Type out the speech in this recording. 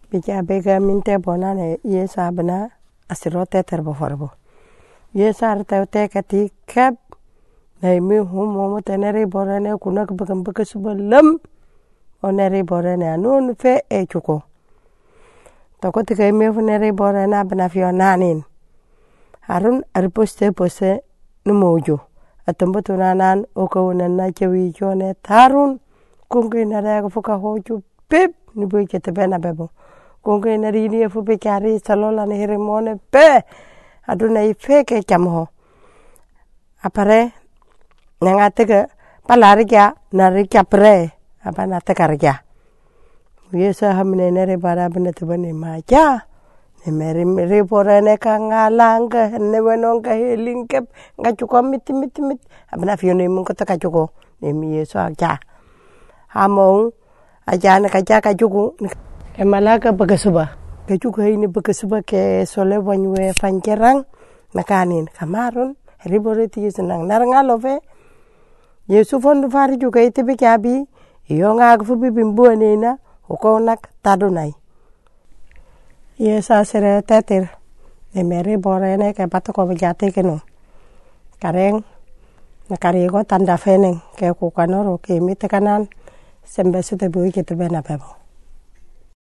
Bika bega minte bonane ye sabna asiro teter boforbo. Ye sar te kati kep na mi humo tenere borane kunak bekam bekasubalam onere borane anun fe e chuko. Toko tika mi funere borane abna fionanin. Harun ariposte pose numojo. Atambutu nanan okawunan na chewi jone tarun kungi naraga fuka hoju pip nibu ketebena bebo. Kungi narini fu bekari salola ni hirimone pe aduna ifeke chamho. Apare nangatega palarga narikya pre apa natekarga. Yesa hamne nere barabne tebane maja. Nemeri porane kangalanga newenong kahilingkep ngachuko mit abna fione mun ko takachuko nemi yeso aja among aja na kaja kajuku emalaga bagasuba kajuku ini bagasuba ke sole bonwe fankerang nakanin kamarun riboreti senang narngalove yesu fondu fari juga ite bikabi iyo ngagfu bibimbuanena ukonak tadunai yesa sere tetir nemeri borene ke patoko bejate keno kareng nakarigo tanda feneng ke kukanoro ke mitekanan sembe sute bui kita bena bebo.